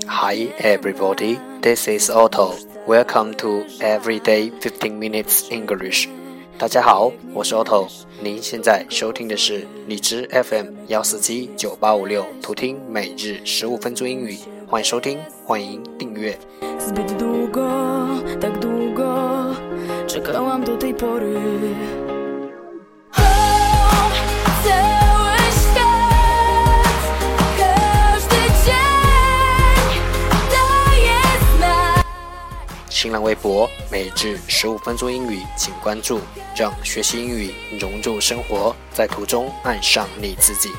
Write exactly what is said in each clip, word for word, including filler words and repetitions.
Hi everybody, this is Otto. Welcome to Everyday fifteen minutes English. 大家好，我是 Otto。您现在收听的是荔枝 F M 一四七九八五六，图听每日十五分钟英语。欢迎收听，欢迎订阅。 Zbyt długo, tak długo czekałam do tej pory. Cały świat, każdy dzień daje znak. 新浪微博每日十五分钟英语，请关注，让学习英语融入生活，在途中爱上你自己。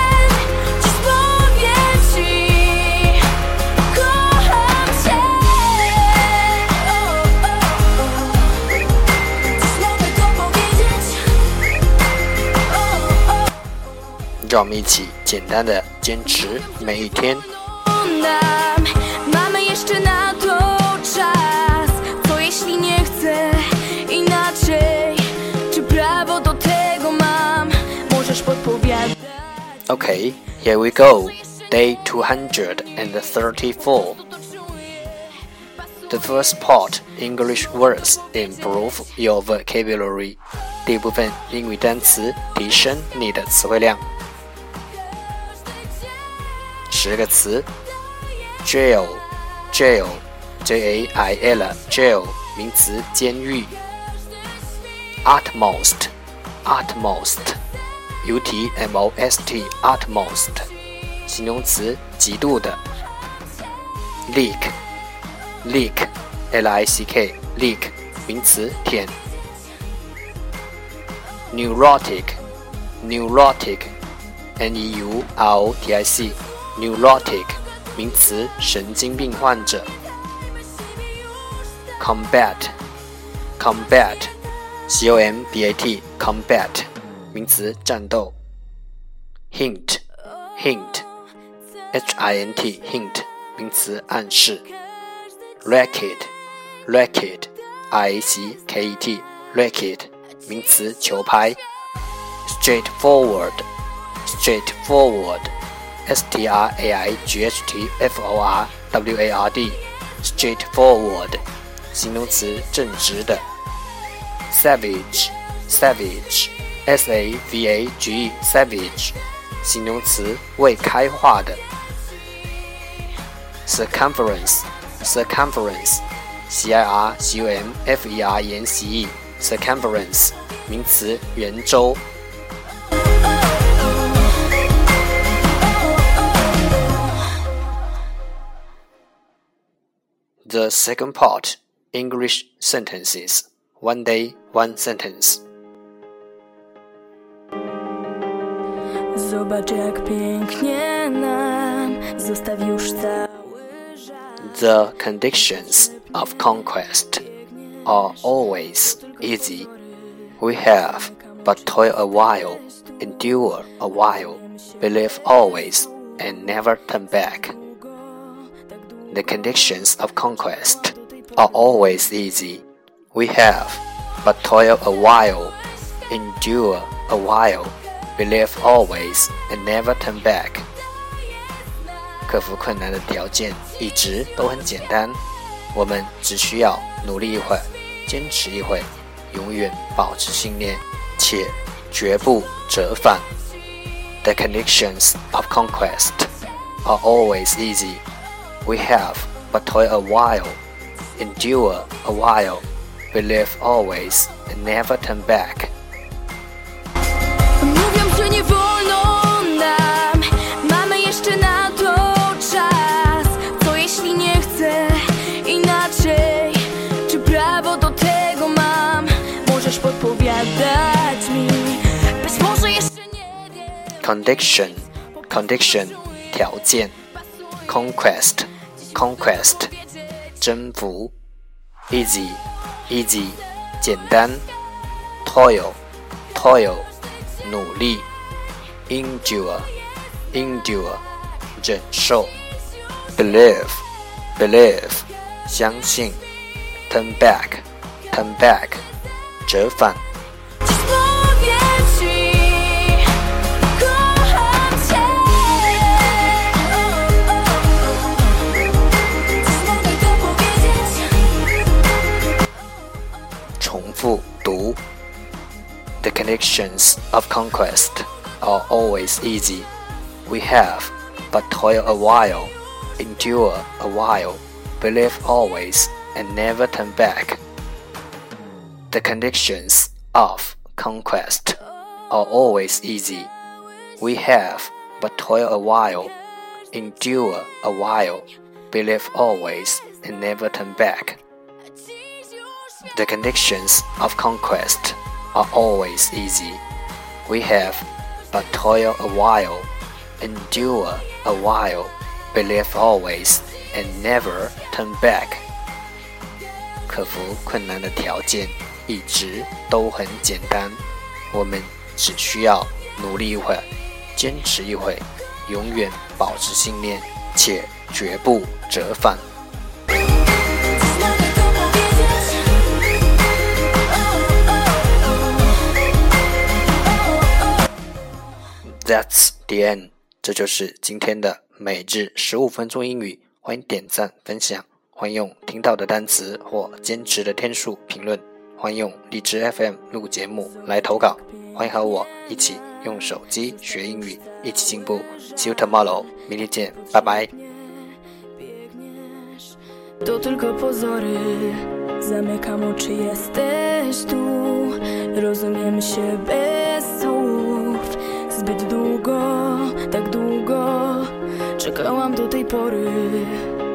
让我们一起简单的坚持每一天。Okay, here we go. Day two hundred thirty-four. The first part, English words, improve your vocabulary. 第一部分英语单词，提升你的词汇量。十个词 jail jail J A I L jail 名词，监狱。utmost utmost U T M O S T utmost 形容词，极度的。leak leak L I C K leak 名词，舔。neurotic neurotic N E U R O T I C neurotic 名词，神经病患者。combat combat C O M B A T combat 名词，战斗。hint hint H I N T hint 名词，暗示。racket racket R A C K E T racket 名词，球拍。straightforward straightforward S T R A I G H T F O R W A R D straightforward 形容词，正直的。savage savage S A V A G E savage 形容词，未开化的。circumference circumference C I R C U M F E R E N C E circumference 名词，圆周。The second part, English sentences. One day, one sentence. Zobacz, jak pięknie nam zostaw już cały żal. The conditions of conquest are always easy. We have but toil a while, endure a while, believe always, and never turn back. The conditions of conquest are always easy. We have but toil a while, endure a while, believe always, and never turn back. 克服困难的条件一直都很简单，我们只需要努力一会儿，坚持一会，永远保持信念，且绝不折返。The conditions of conquest are always easy. We have but toil a while, endure a while, believe always, and never turn back. Mówią, że nie wolno nam, mamy jeszcze na to czas. Co jeśli nie chcę inaczej? Czy prawo do tego mam? Możesz podpowiadać mi, być może jeszcze nie wiem. Condition, condition 条件。Conquest, conquest 征服。Easy, easy 简单。Toil, toil 努力。Endure, endure 忍受。Believe, believe 相信。Turn back, turn back 折返。 The conditions of conquest are always easy. We have but toil a while, endure a while, believe always, and never turn back. The conditions of conquest are always easy. We have but toil a while, endure a while, believe always, and never turn back. The conditions of conquest are always easy. We have but toil a while, endure a while, believe always, and never turn back. 克服困难的条件一直都很简单，我们只需要努力一会，坚持一会，永远保持信念，且绝不折返。That's the end. 这就是今天的每日十五分钟英语。欢迎点赞分享，欢迎用听到的单词或坚持的天数评论，欢迎用荔枝 F M 录节目来投稿，欢迎和我一起用手机学英语，一起进步。See you tomorrow. 明天见，拜拜。 To tylko pozory, zamykam oczy, jesteś tu. Rozumiemy się bez słów. Zbyt długo, tak długo czekałam do tej pory.